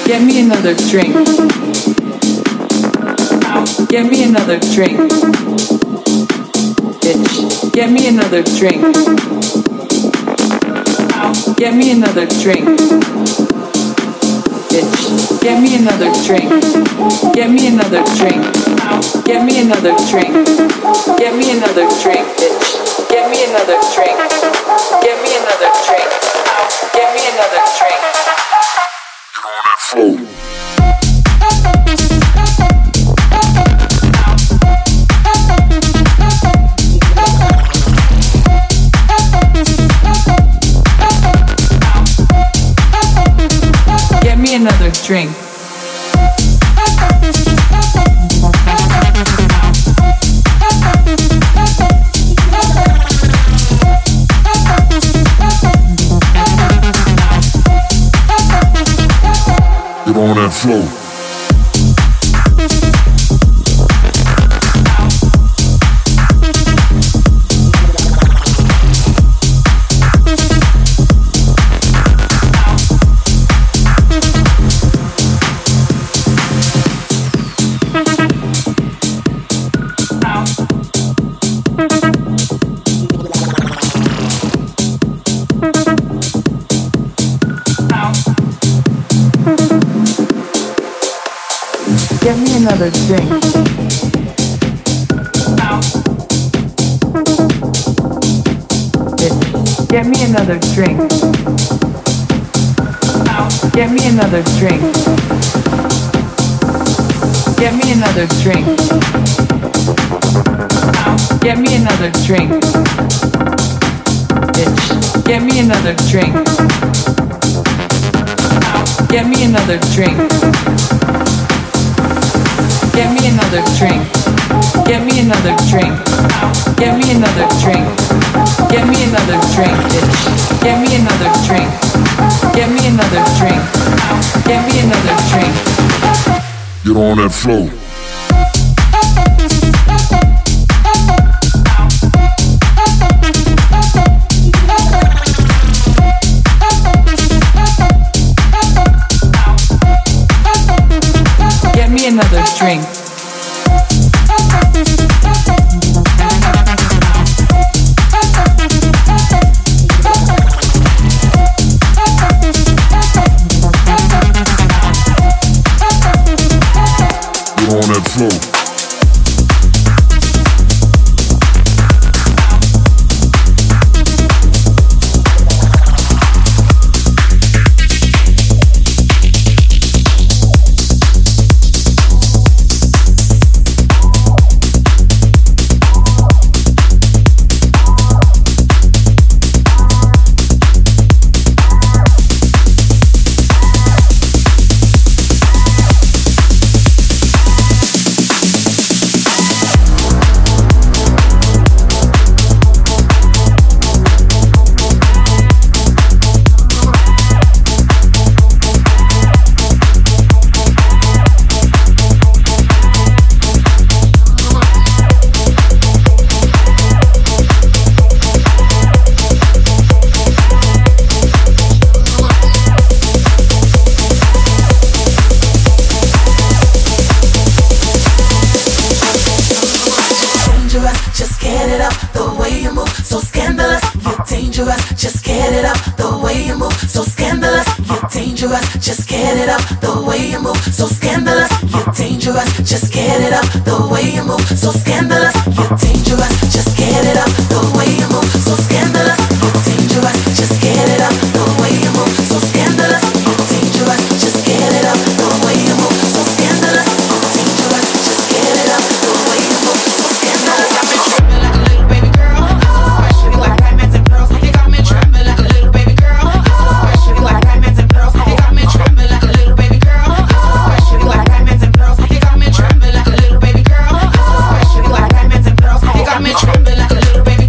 Get me another drink. Get me another drink. Bitch, get me another drink. Get me another drink. Bitch, get me another drink. Get me another drink. Get me another drink. Get me another drink, bitch. Get me another drink. Get me another drink. Get me another drink. Get on that floor. Get me another drink. Get on that floor. Get me another drink. Bitch, get me another drink. Get me another drink. Get me another drink. Get me another drink. Bitch, get me another drink. Get me another drink. Get me another drink. Get me another drink. Get me another drink. Get me another drink, bitch. Get me another drink. Get me another drink. Get me another drink. Get on that floor. Get me another drink. Get on that floor. Just get it up, the way you move, so scandalous. You're dangerous, just get it up, the way you move, so scandalous. You're dangerous, just get it up, the way you move, so scandalous. You're dangerous, just get it up, the way you move, so scandalous. You're dangerous, just get it up, the way you move, so scandalous. You're dangerous, just get it up, the way you move, so scandalous. You're dangerous, just get it up, the way you move, so scandalous. Got me tripping like a little baby girl, especially like diamonds and pearls. They got me tripping like a little baby girl, especially like diamonds and pearls. They got me tripping like a little baby girl, especially like diamonds and pearls. They got me tripping like a little baby girl, especially like diamonds and pearls. They got me tripping like a little baby.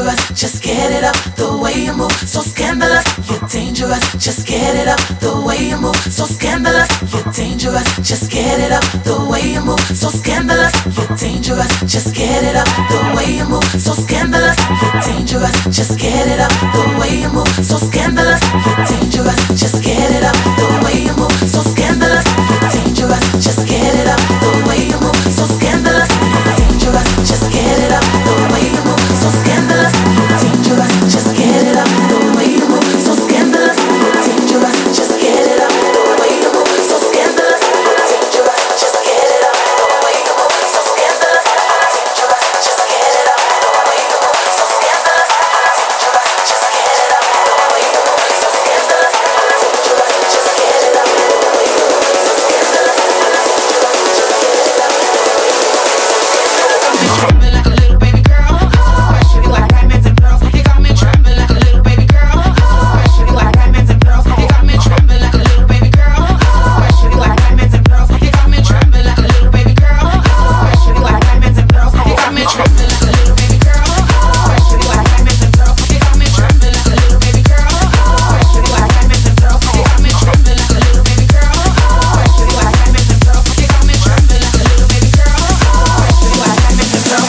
dangerous, just get it up. The way you move, so scandalous. You're dangerous, just get it up. The way you move, so scandalous. You're dangerous, just get it up. The way you move, so scandalous. You're dangerous, just get it up. The way you move, so scandalous. You're dangerous, just get it up. The way you move, so scandalous. You're dangerous, just get it up. The way you move, so scandalous. You're dangerous, just get it up. The way you move, so scandalous. You're dangerous, just get it up. The way you move, so scandalous. You're dangerous, just get it up. The way you move, so scandalous. You're dangerous, just get it up. The way you move, so scandalous. You're dangerous, just get it up. The way you move, so scandalous. You're dangerous, just get it up. The way you move, so scandalous. You're dangerous, just get it up. The way you move, so scandalous. You're dangerous, just get it up. The way you move, so scandalous. You're dangerous, just get it up. The way you move, so scandalous. Trembling like a little baby girl, especially like diamonds and pearls. You got me trembling like a little baby girl, especially like diamonds and pearls. You got me trembling like a little baby girl, especially like diamonds and pearls. You got me trembling like a little baby girl, especially like diamonds and pearls. You got me trembling like a little baby girl, especially like diamonds and pearls. You got me trembling like a little baby girl, especially like diamonds and pearls. You got me trembling like a little baby girl, especially like diamonds and pearls. You got me trembling like a little baby girl, especially like diamonds and pearls.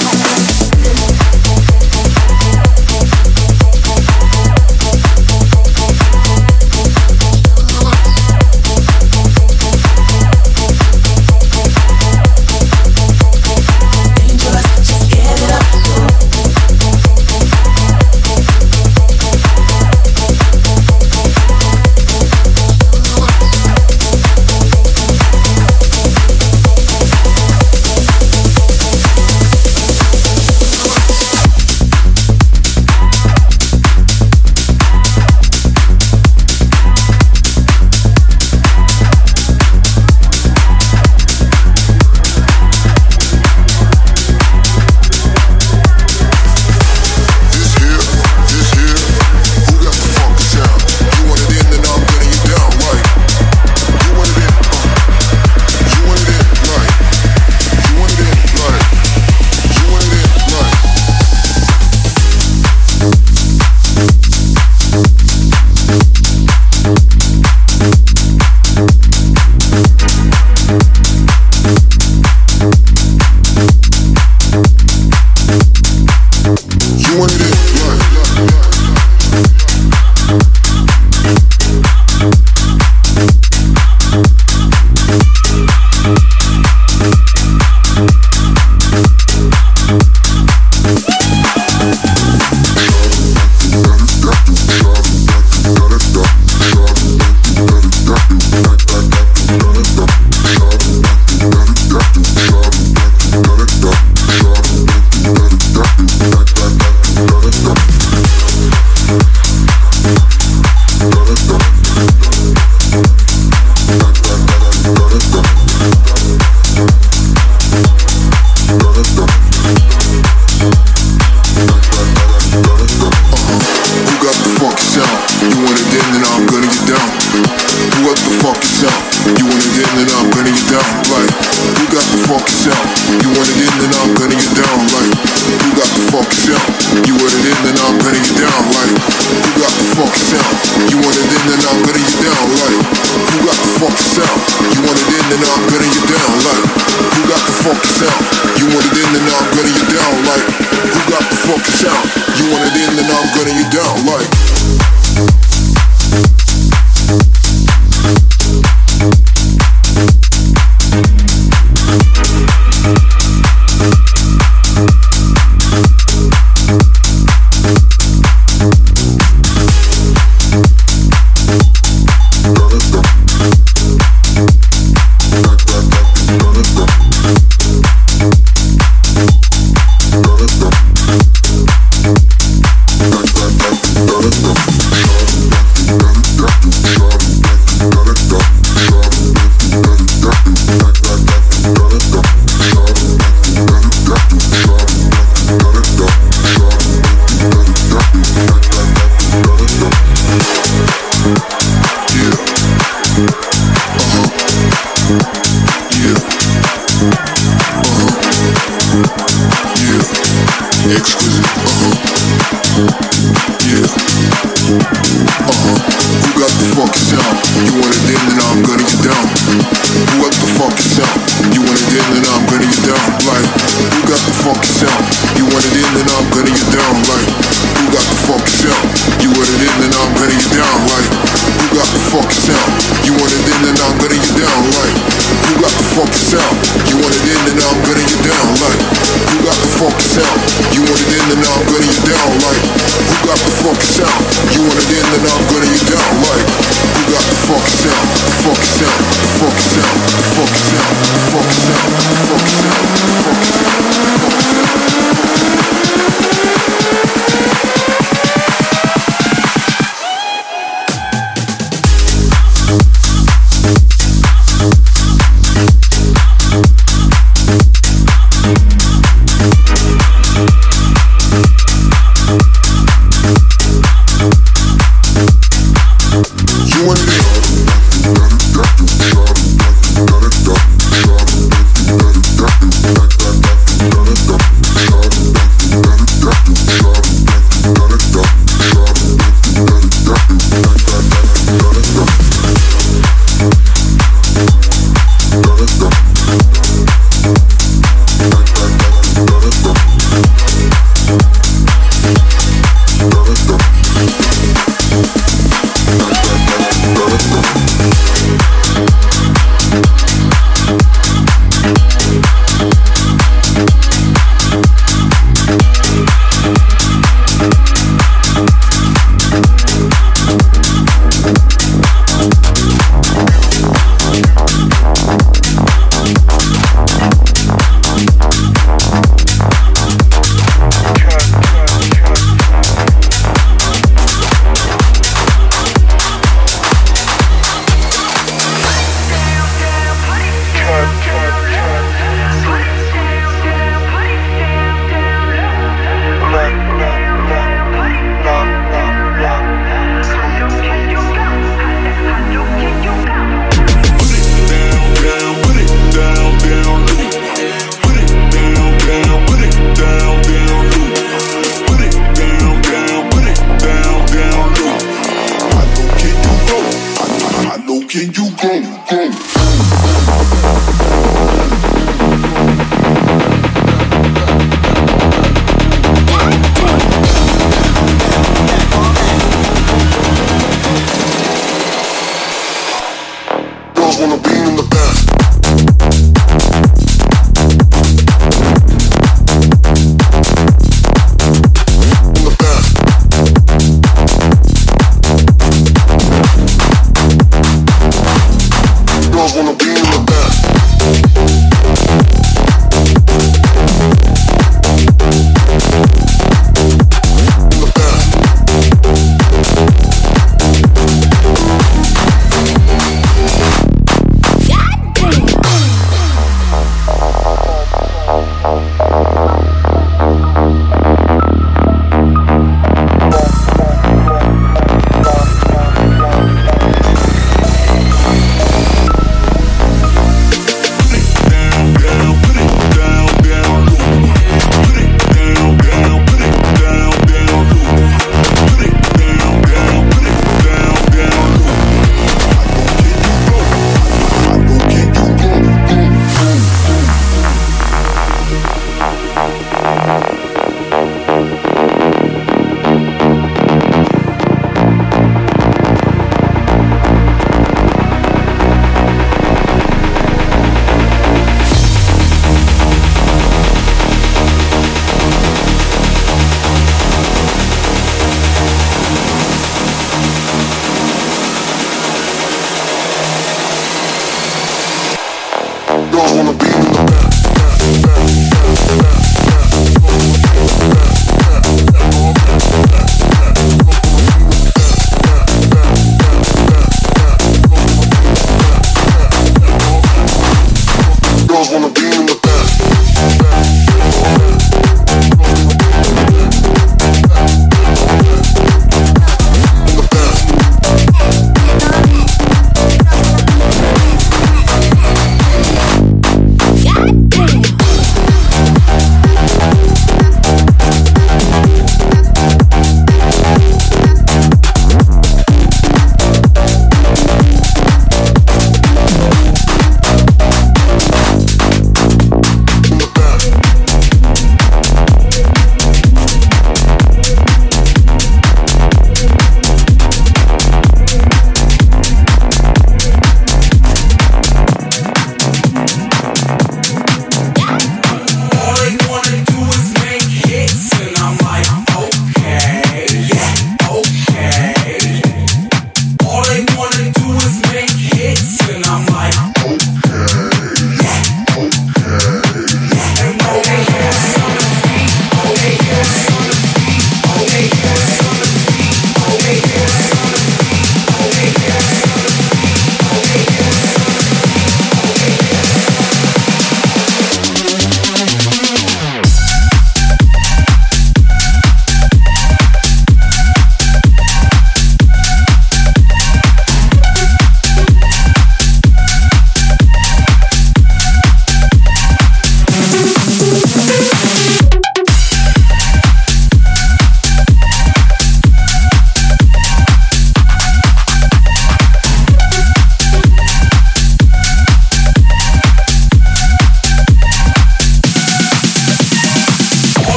Dangerous, just get it up. Exquisite, Yeah. Who got the fucking sound? You want it in, then I'm gonna get down. Who got the fucking sound? You want it in, then I'm gonna get down. Like, who got the fucking sound? You want it in, then I'm gonna get down. Like, who got the fucking sound? You want it in, then I'm gonna get down. Like, who got the fucking sound? You want it in, then I'm gonna get down. Like, who got the fucking sound? You want it in, then I'm gonna get down. Like, who got the fucking sound? You want it in, then I'm gonna get down. Like, who got the fucking sound? You want it in, then I'm gonna get down. Like, who got the fucking sound? The fucking sound, the fucking sound, the fucking sound, the fucking sound, the fucking sound, the fucking sound, the fucking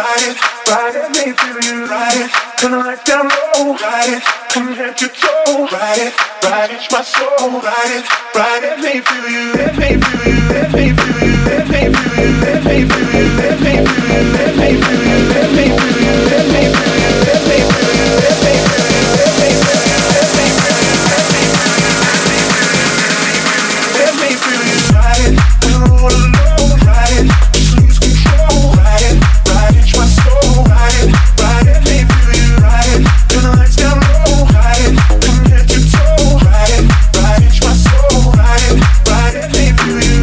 ride it, let me feel you, ride it. Turn the lights down low, ride it, from head to toe, ride it, reach my soul, ride it, let me feel you, let me feel you, let me feel you, let me feel you, let me feel you, let me feel you, let me feel you, let me feel you, let me feel you, let me feel you, let me feel you, let me feel you, let me feel you, let me feel you, ride it, all alone, ride it, just lose control, ride it, reach my soul, ride it, let me feel you, ride it, turn the lights down low, ride it, from head to toe, ride it, reach my soul, ride it, let me feel you.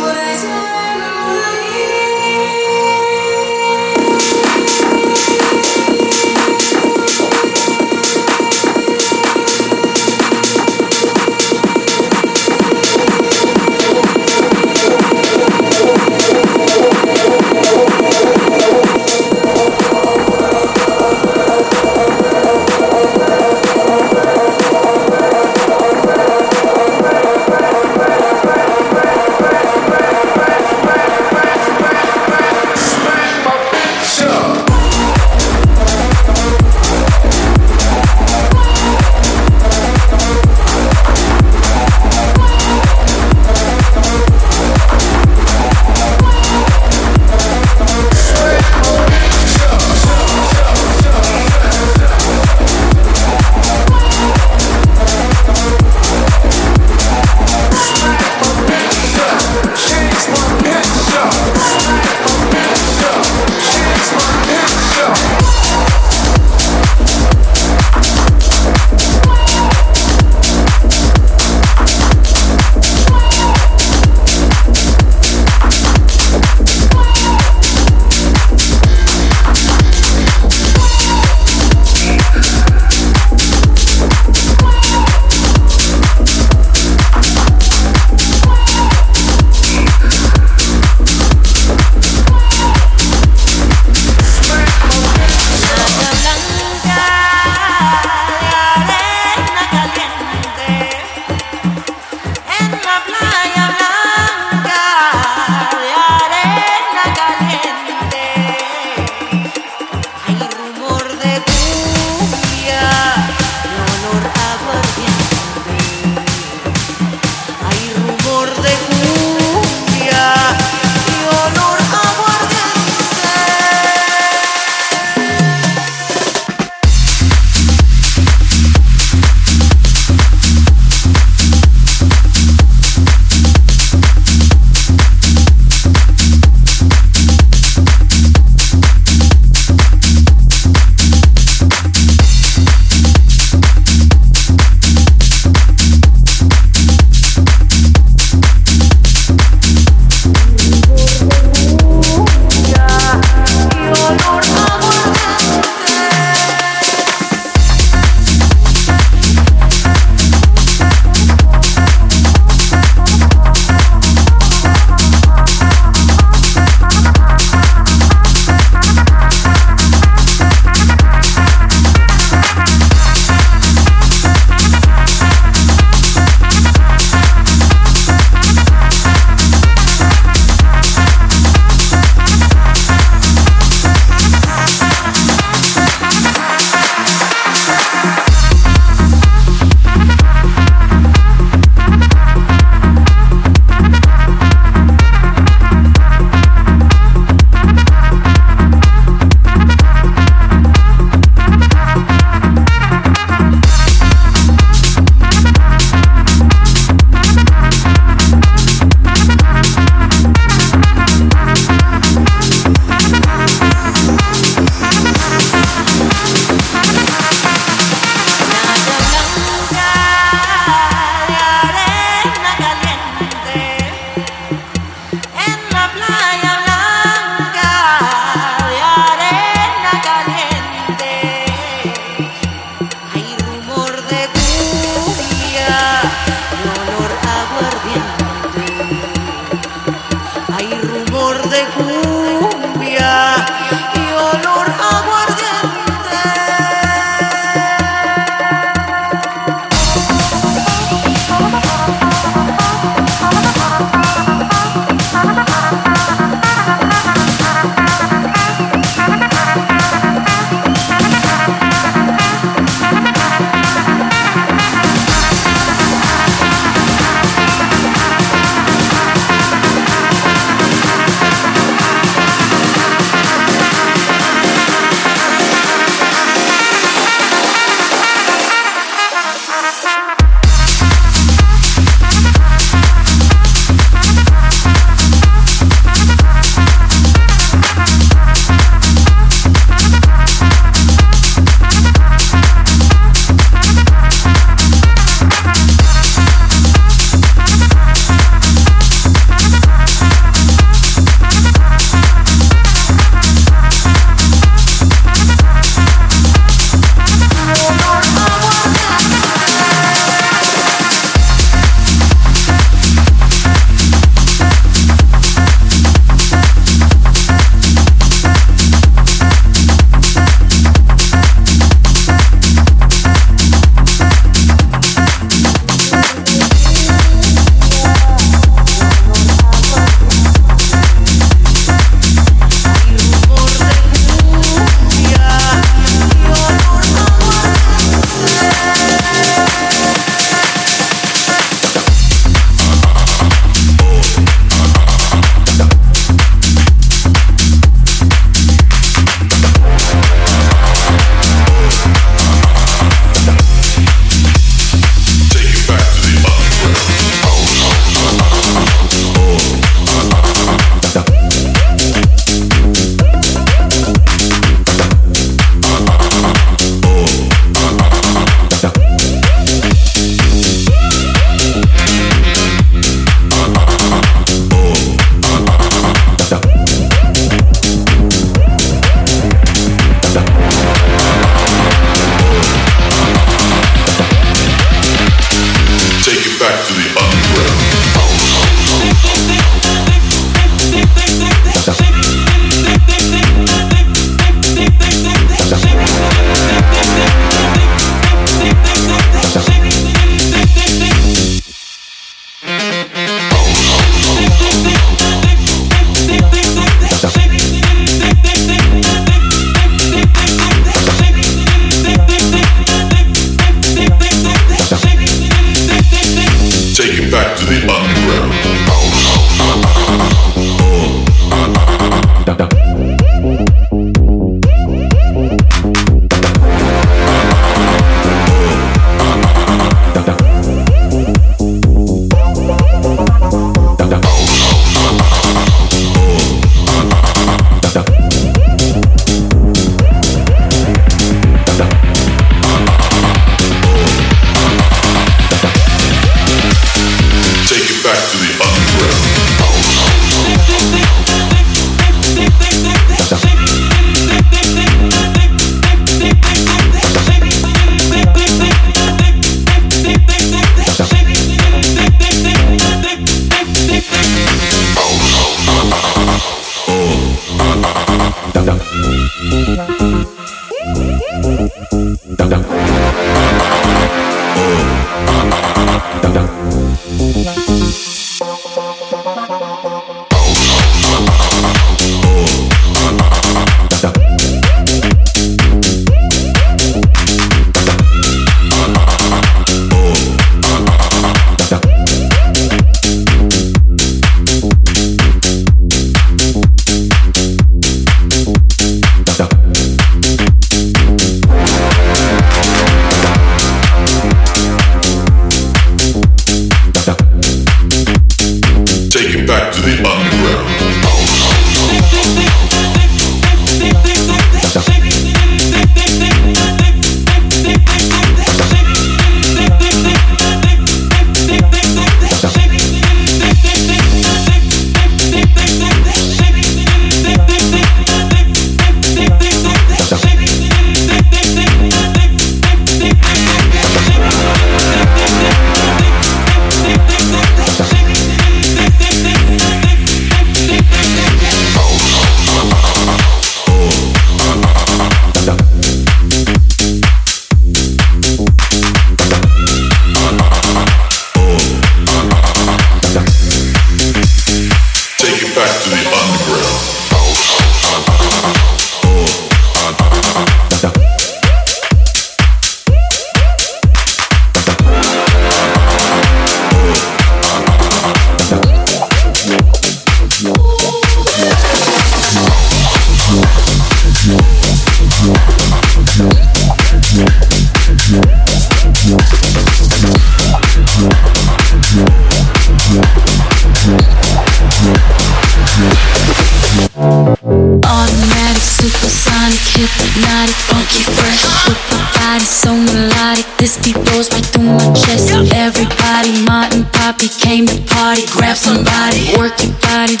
Automatic, supersonic, hypnotic, funky, fresh. With the body so melodic, this beat goes right through my chest. Everybody, Martin, Poppy came to party. Grab somebody, work your body,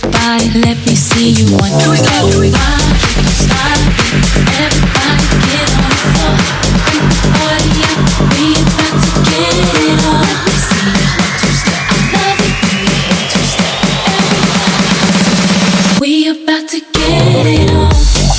let me see you 1, 2, 3, 4, 5. Stop it, everybody get on the floor. Crank the party up, we about to get it on. Let me see you 1, 2, step. I love it when you 1, 2, step. Everybody, we about to get it on.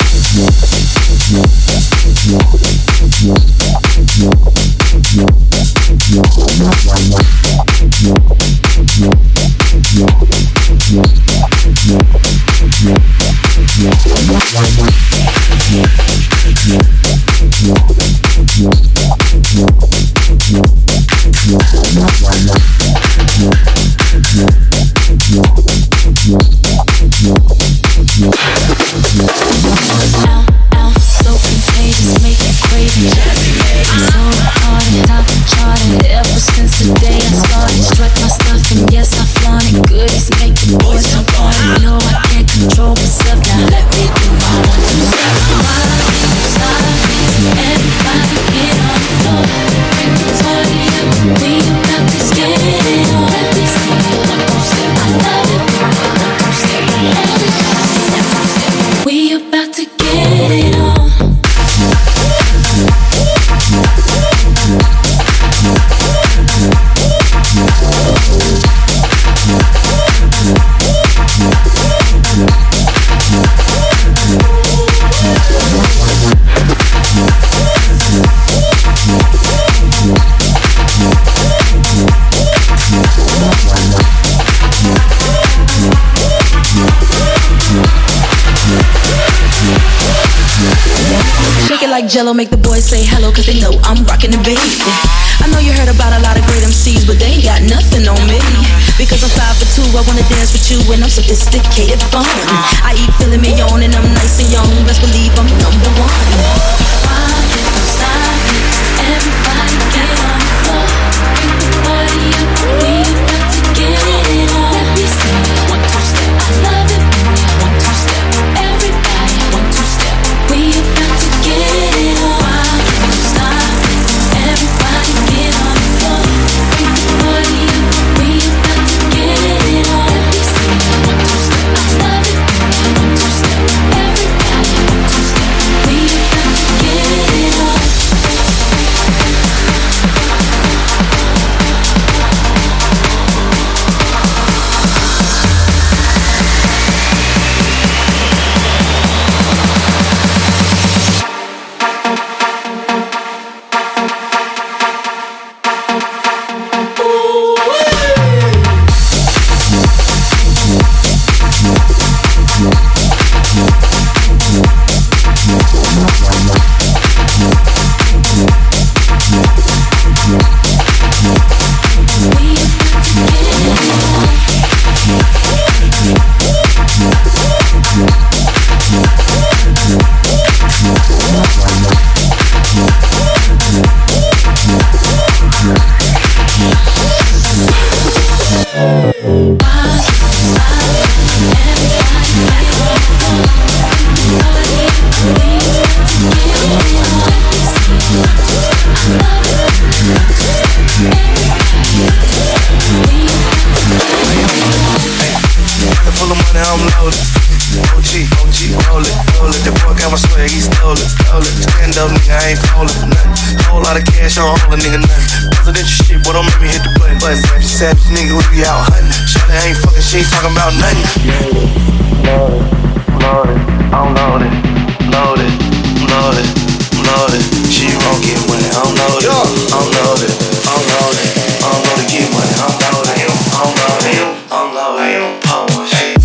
Like Jello, make the boys say hello, cause they know I'm rockin' the baby. I know you heard about a lot of great MCs, but they ain't got nothing on me. Because I'm 5'2", I wanna dance with you, and I'm sophisticated fun. I eat filet mignon, and I'm nice and young. Best believe I'm number one. Rock it, stop it, everybody get on the floor. Bring the party up, we about to get it on. Let me see you 1, 2, step. I love it when you 1, 2, step. Everybody 1, 2, step. We about to get it on. Rock it, stop it, everybody get on the floor. Bring the party up, we about to get it on. Let me see you 1, 2, step. I love it when you 1, 2, step. Everybody 1, 2, step. We about to full of money, I'm loaded. OG, roll it. That boy got my swag, he stole it. Stand up, nigga, I ain't falling for nothing. Whole lot of cash on all a nigga, nothing. Presidential shit, boy, don't make me hit the button. Savage nigga, we be out hunting. Shawty ain't fucking, she ain't talking about nothing. Loaded, I'm loaded. She won't get money, I'm loaded. I'm loaded, get money, I'm loaded. Power shit.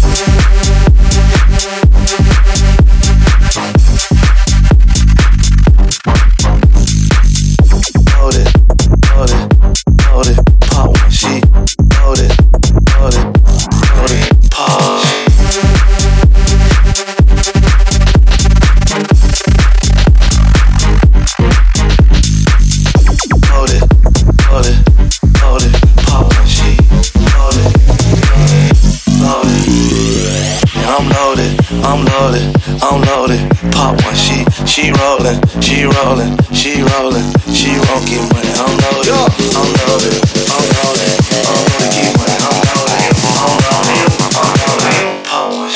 I'm loaded, pop one, she rollin', she won't get money, I'm loaded, get money, I'm loaded, pop one,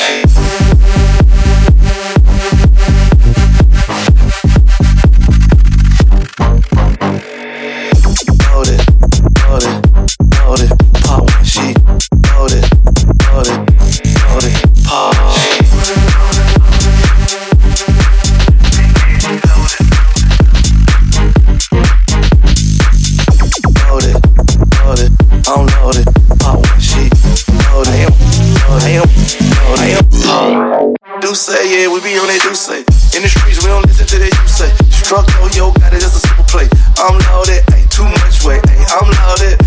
say, yeah, we be on that do say. In the streets, we don't listen to that you say. Struck, oh, yo, got it, that's a simple play. I'm loaded, ain't too much weight. Ay, I'm loaded,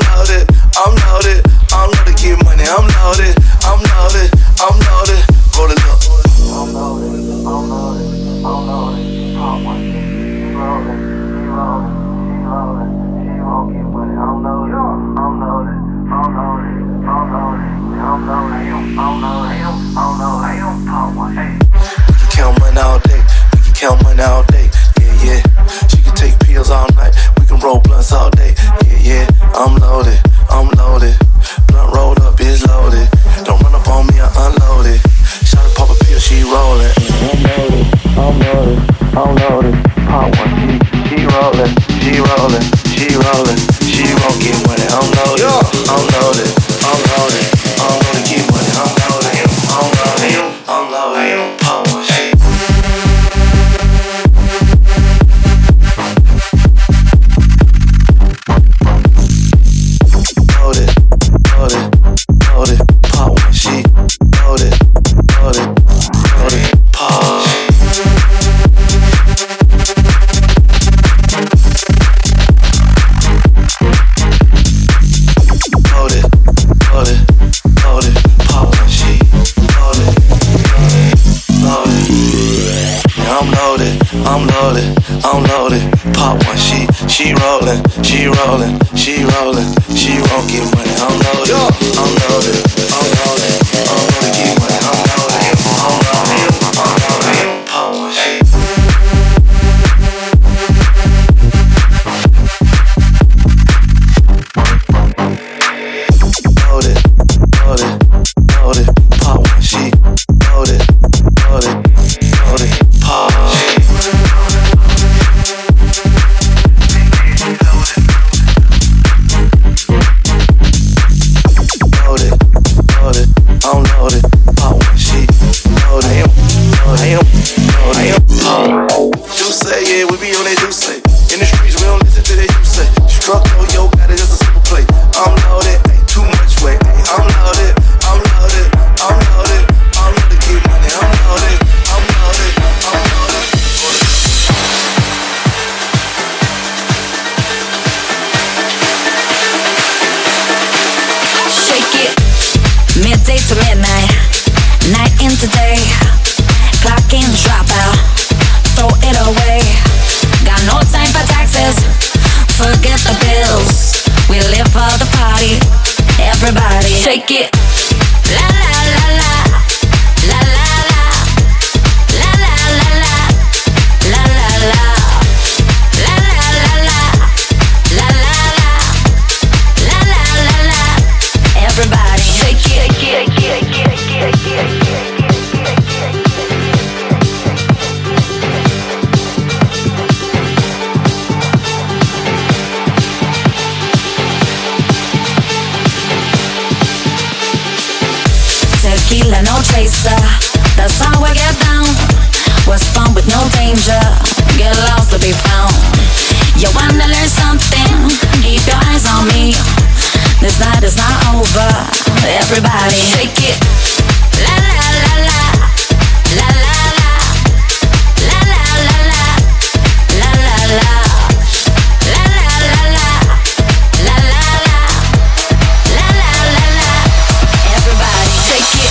get money. I'm loaded, hold it up. I'm loaded, she won't get money. I'm loaded. Count money all day, we can count money all day, yeah. She can take pills all night, we can roll blunts all day, yeah. I'm loaded, blunt rolled up is loaded. Don't run up on me, I unloaded. Shawty pop a pill, she rollin'. I'm loaded, pop one, she rollin'. She won't get money, I'm loaded, get money, I'm loaded, pop one, shit. Loaded, pop one, shit. Loaded, pop one, shit. I'm loaded, pop one, she rollin', she won't get money, I'm loaded, get money, I'm loaded, pop one, shit. Loaded, pop one, she loaded, pop one, shit. Do say, yeah, we be on that do say. In the streets, we don't listen to that you say. Struck, oh, yo, got it, that's a simple play. I'm loaded, ain't too much weight. I'm loaded, get money. I'm loaded. Shake it, midday to midnight, night into day. Clock in, drop out, throw it away. Got no time for taxes, forget the bills. We live for the party, everybody shake it. La la la la, la la la, la la la la, la la la, la la la la, la la la, la la la la. Everybody shake it, shake it, shake it, shake it. tequila, no chaser. That's how we get down. What's fun with no danger? Get lost to be found. You wanna learn something? Keep your eyes on me. This night is not over. Everybody shake it. La la la la. La la la. La la la la. La la la. La la la la. La la la. La la la la. Everybody shake it.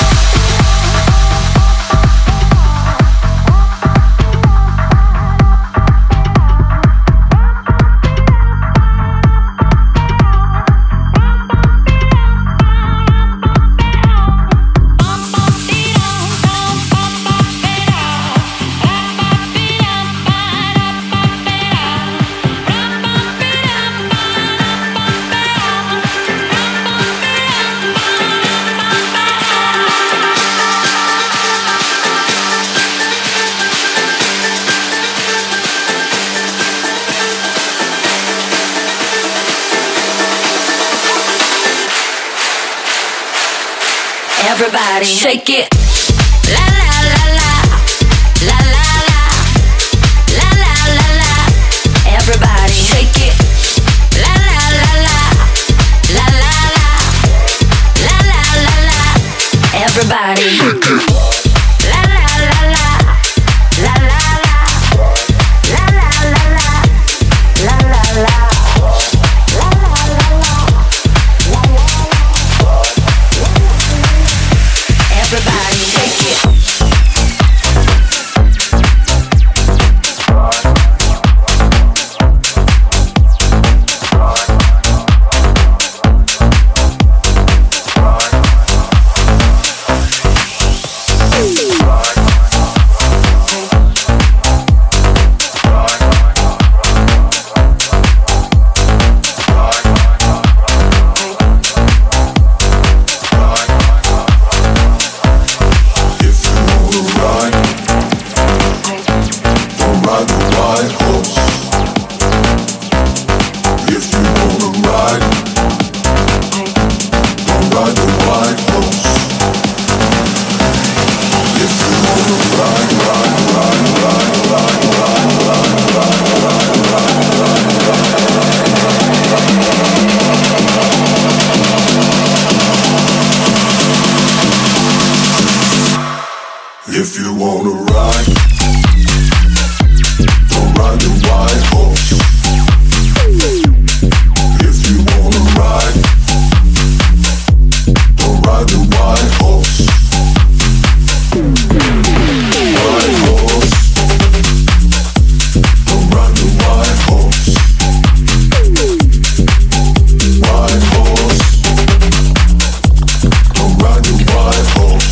Everybody shake it. La la la la. La la la. La la la la. Everybody shake it. La la la la. La la la. La la la la. Everybody shake it. La la la la. La la la. La la la la. La la la. Everybody shake it. If you wanna ride, don't ride the white horse. If you wanna ride, don't ride the white horse. White horse, don't ride the white horse. White horse, don't ride the white horse.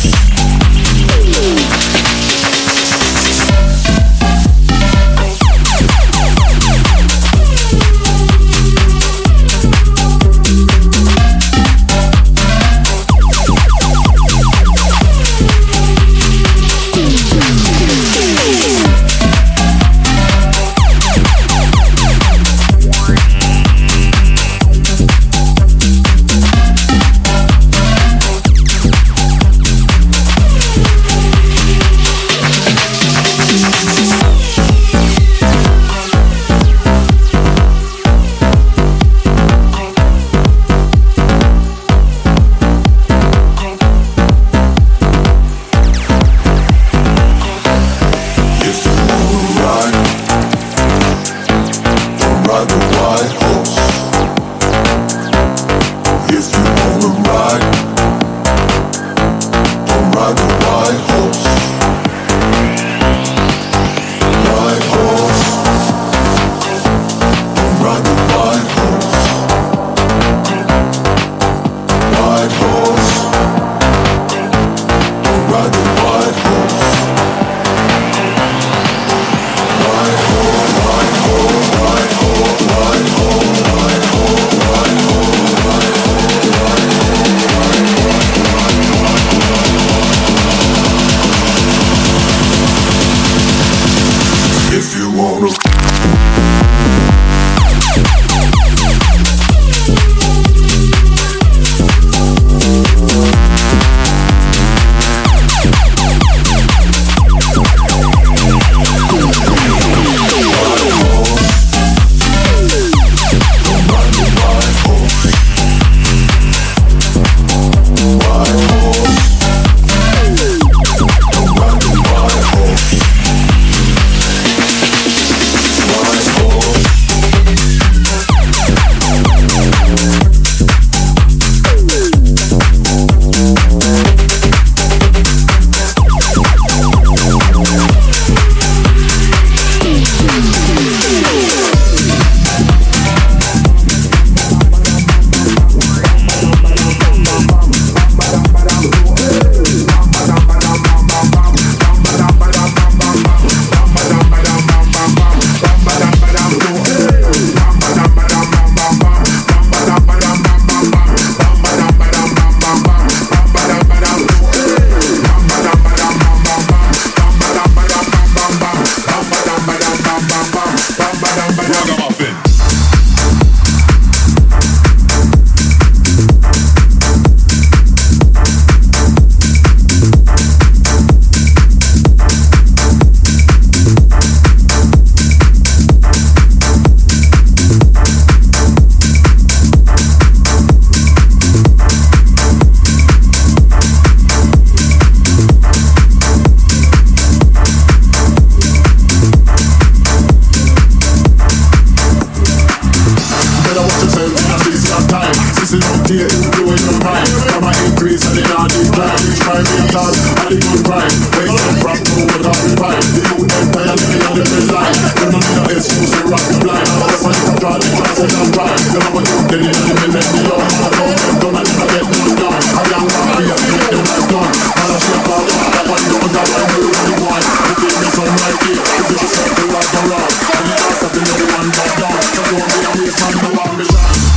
increase and it not decline. Each crime be a task, and the good crime. Waste them from to what have we find. The youth them tired living on the red line. Them no need no excuse to rock the blind. All the money to draw the chances and drive. You know what youth dead in the millennium. I know them done and never get none done. I young one free and make them life done. Man I shake all the that one down that one do the one. You give me some right here. You push yourself to right or wrong. And you ask that everyone back down. So don't be a waste man, no ambition.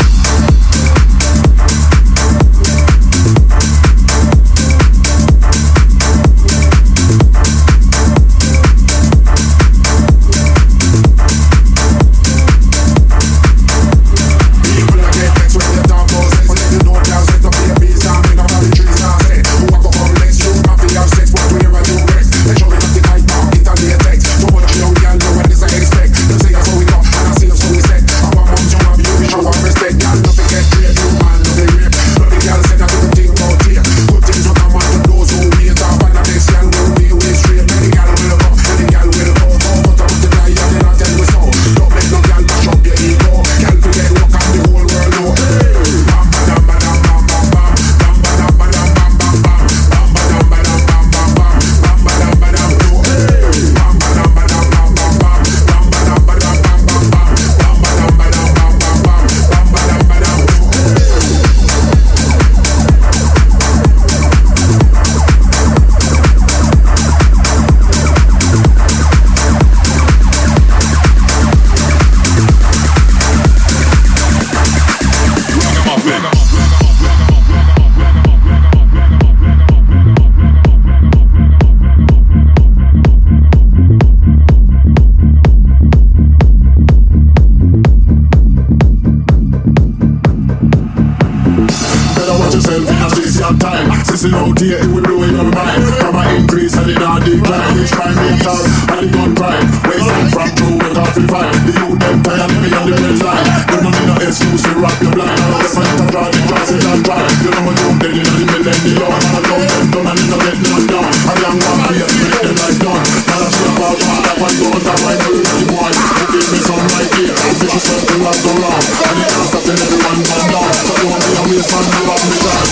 Listen out here, it will blow in your mind. From an increase and it not decline. Each crime be a task and it gun crime. Waste them from true with half in fight. The youth them tired living on the red line. You don't need no excuse to rock your blind. All the fight to draw the crosses and drive. You know what you're dead in the millennium. I love them done and it no get none down. A young one fear to make them life done. Man I shake out all that one go that one do the boy. Who give me some right here. Fish yourself to rock the wrong. And it can't stop till everyone man down. So don't be a waste man, you have me done.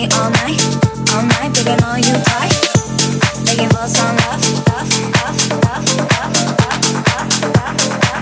me all night, digging on you tight, begging for some love, love, love, love, love, love, love,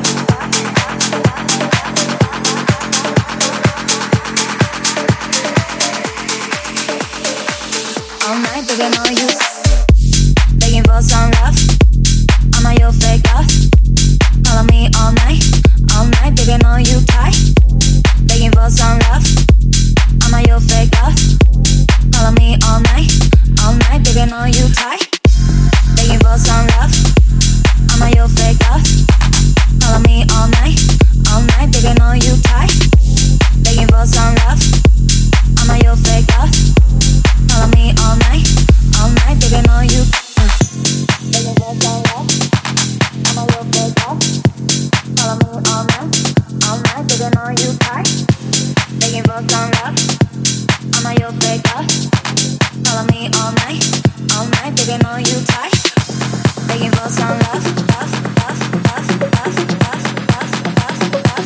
all night digging on you, begging for some love. I'm on your fake love. Follow me all night, digging on you tight, begging for some love. I'm on your fake love. Follow me all night, digging on you tight, begging for some love. I'm on your fake love. Follow me all night, digging on you tight, begging for some love. I'm on your fake love. Follow me all night, digging on you. Begging for some love. I'm on your fake love. Follow me all night, digging on you tight, begging for some love. I'm on your fake love. Follow me all night, digging on you tight, begging for some love, love, love, love, love, love, love, love,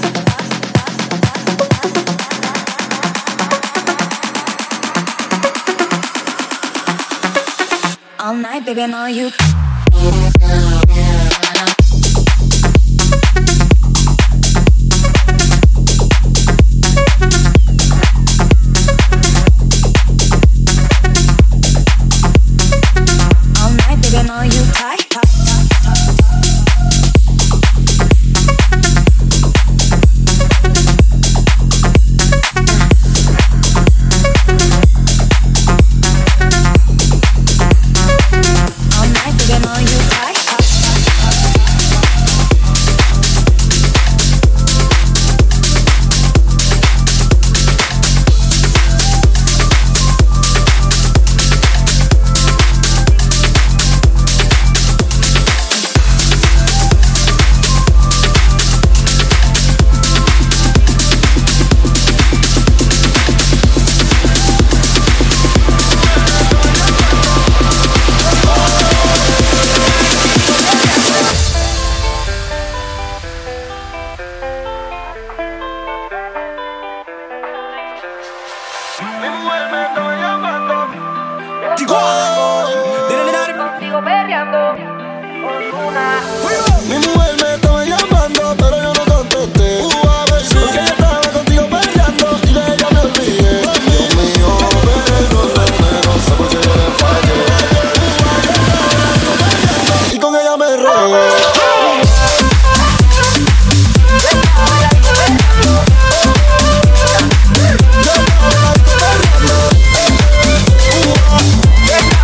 love. All night, digging on you. On you tight, tight, all night digging on you tight, Mi mujer me estaba llamando, pero yo no contesté. A ver si porque ella estaba contigo peleando y de ella me olvidé. Dios mío, perdóname, no sé por qué yo le fallé. Y con ella me regué. Yeah.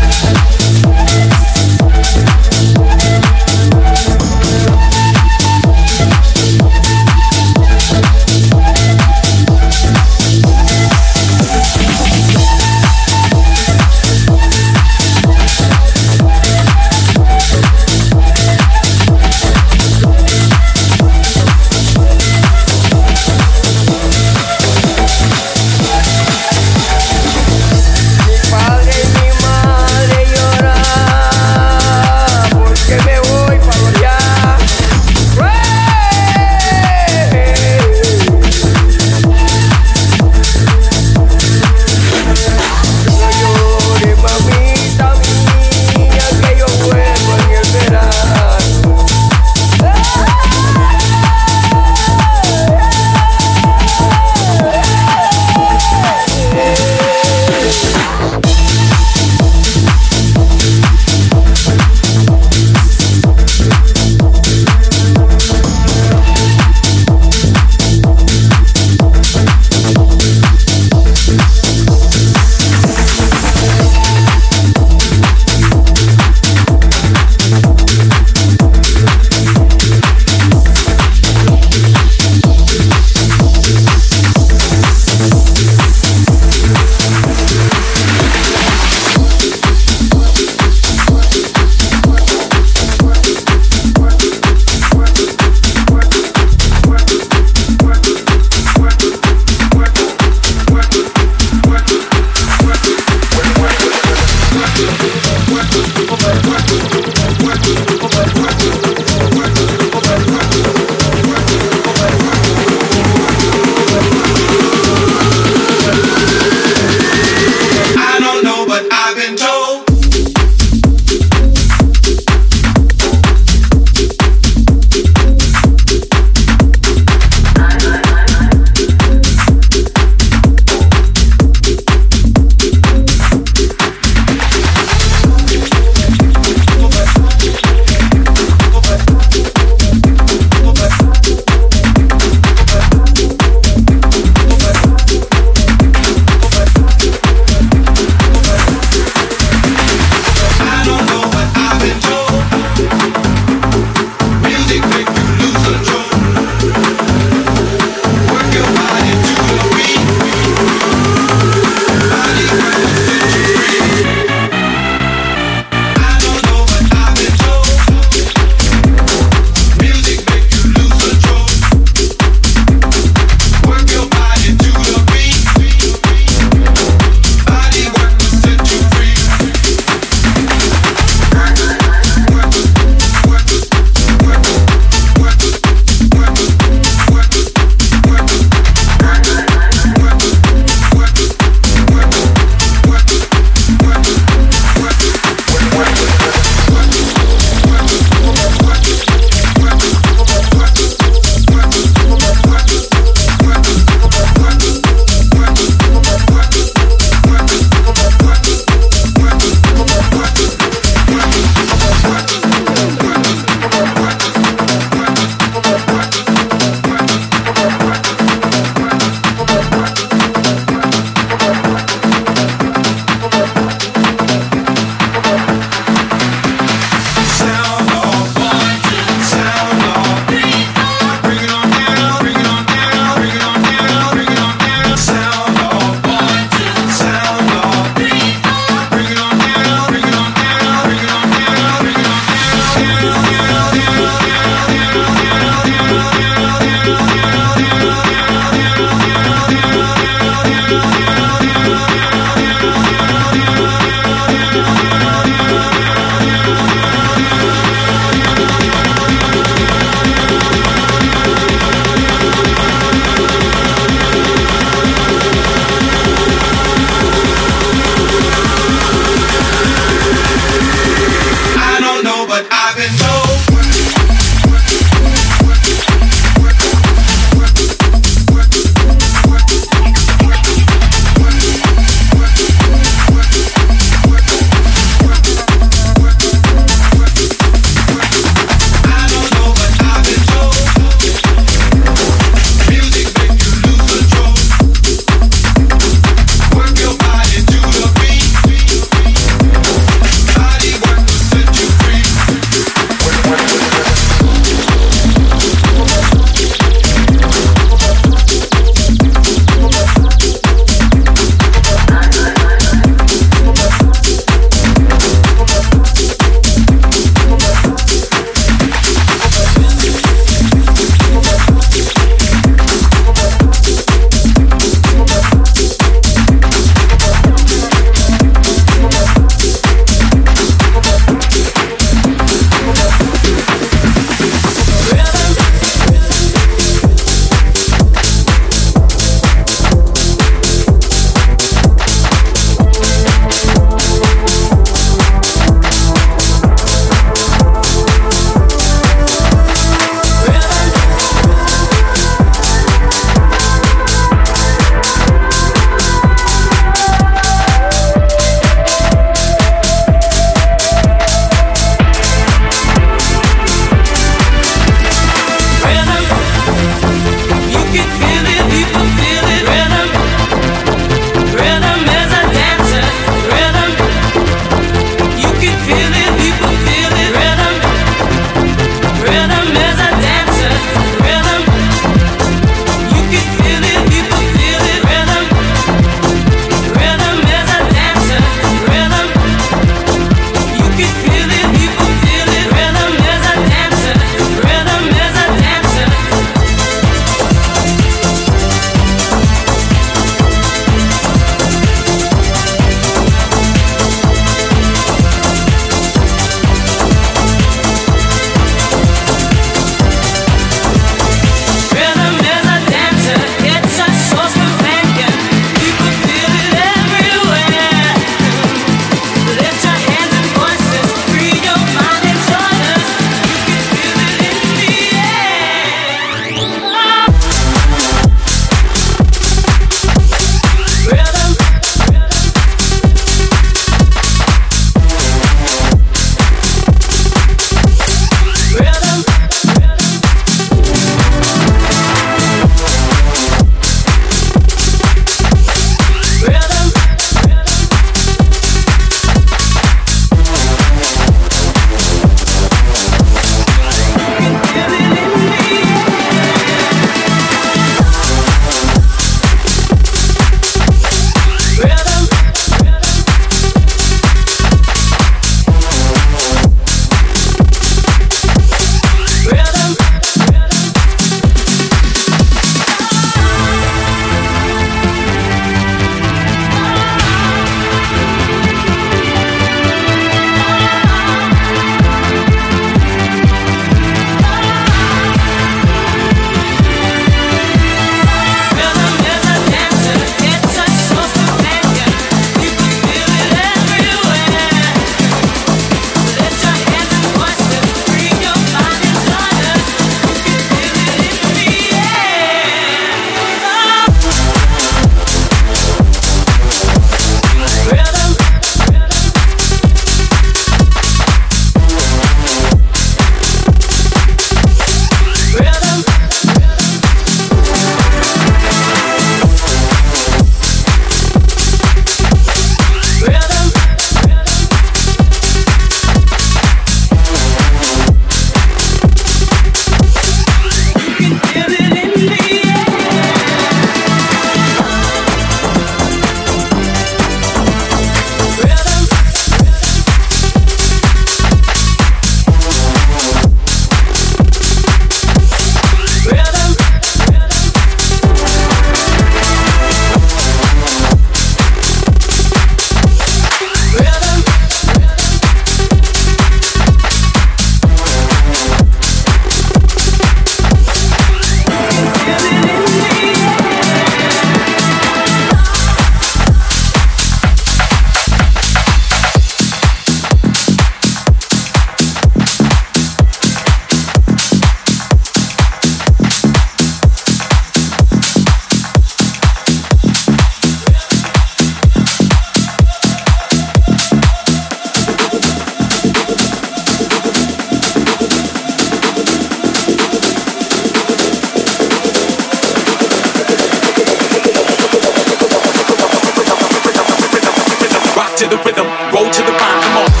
roll to the rhyme, come on.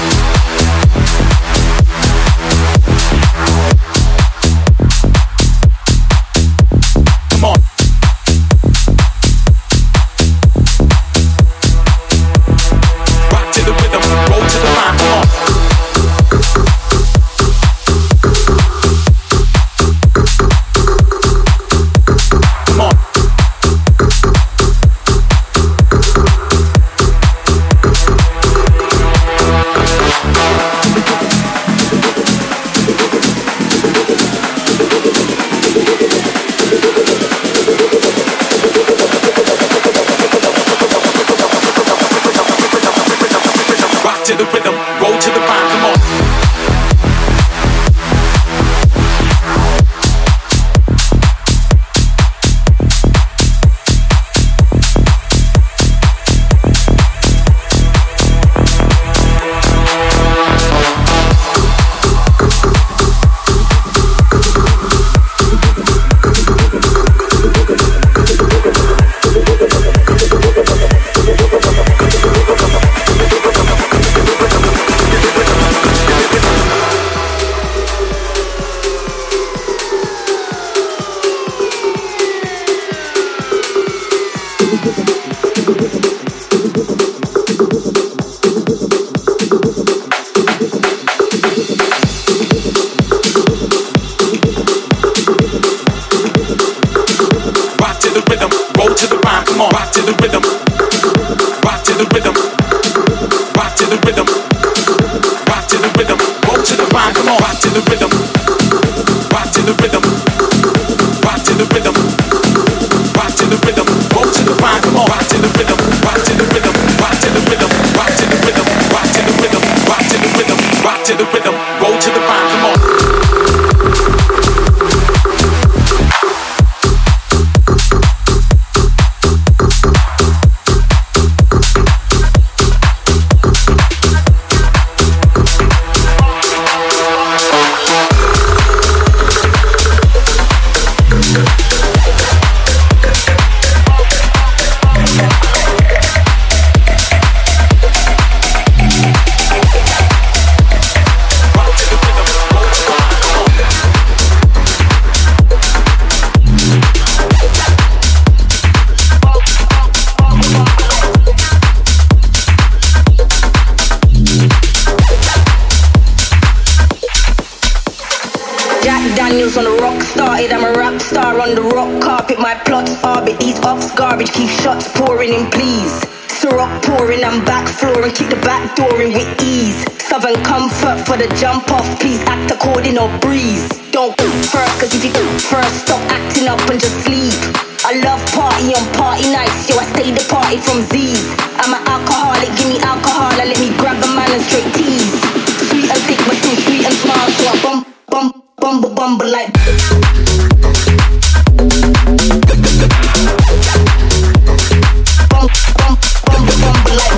Come on. Rock to the rhythm, roll to the rhyme, come on. To the rhythm, roll to the rhyme, come on. For the jump off, please act according or breeze. Don't first, cause if you first, stop acting up and just sleep. I love party on party nights, yo, I stay the party from Z's. I'm an alcoholic, give me alcohol, and let me grab a man and straight tease. Sweet and thick, but still sweet and smart, so I bumble like. Bumble like.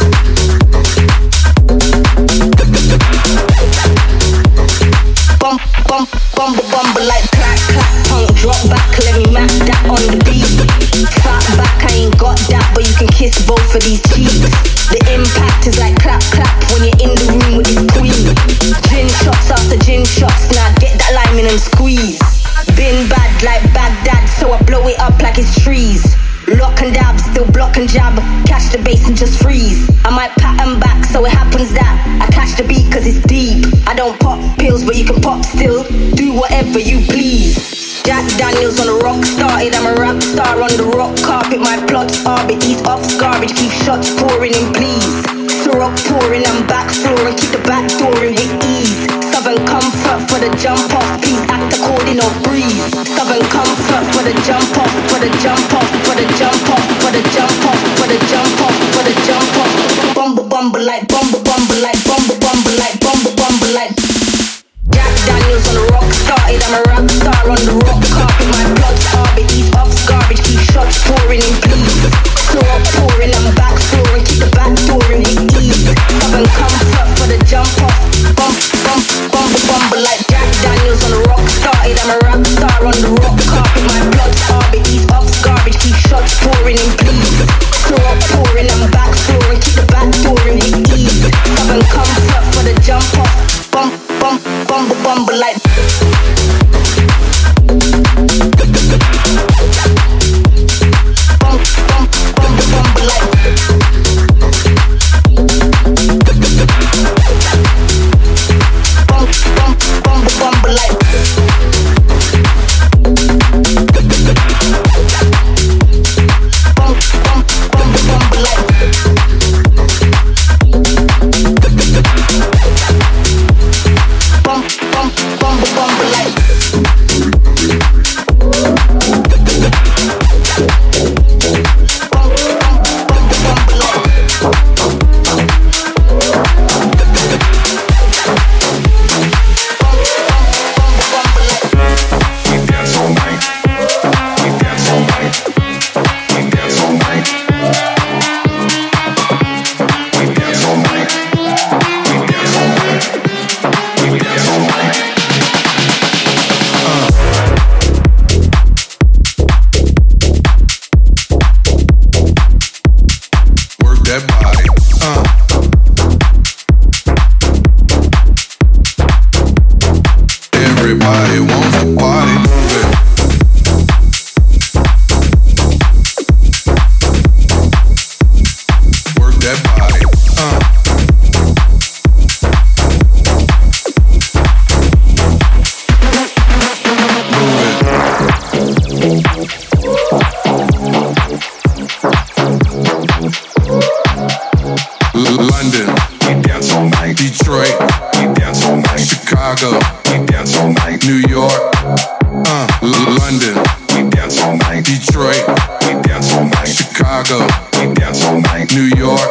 Bumble like clap, clap, punk, drop back, let me match that on the beat. Fat back, I ain't got that, but you can kiss both of these cheeks. The impact is like clap, clap when you're in the room with this queen. Gin shots after gin shots, now get that lime in and squeeze. Been bad like Baghdad, so I blow it up like it's trees. Lock and dab, still block and jab, catch the bass and just freeze. I might pattern back, so it happens that I catch the beat cause it's deep. I don't pop pills, but you can pop still. Do whatever you please. Jack Daniels on the rock started, I'm a rap star on the rock carpet. My plots orbit, these ops garbage, keep shots pouring in please. Syrup pouring, I'm back flooring, keep the back dooring with ease. Southern comfort for the jump off, please act according or breeze. Southern comfort for the jump off, for the jump off, for the jump off, for the jump off, for the jump off, for the jump off. Bumble like, bumble like, bumble like. Jack Daniels on the rock started, I'm a rap star on the rock carpet. My plots orbit, these ops garbage, keep shots pouring in please. Syrup pouring, I'm back flooring, keep the back dooring with ease. Southern comfort for the jump off, bumble like. Jack Daniels on the rock started, I'm a rap star on the rock carpet. My plots orbit, these ops garbage, keep shots pouring in please. Syrup pouring, I'm back flooring, keep the back dooring with ease. Chicago, we dance all night. New York,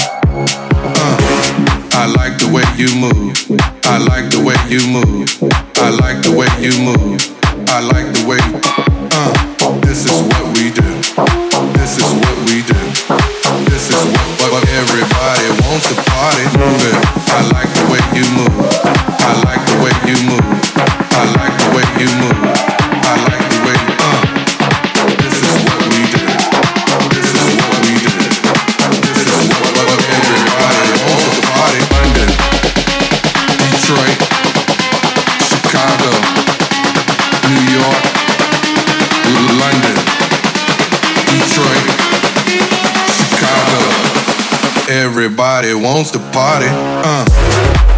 I like the way you move. I like the way you move. I like the way you move. I like the way. This is what we do. This is what we do. This is what everybody wants to party. I like the way you move. I like the way you move. I like the way you move. I like the way. This is what we do. This is what we do. This is what everybody wants to party. London, Detroit, Chicago, New York, London, Detroit, Chicago. Everybody wants to party.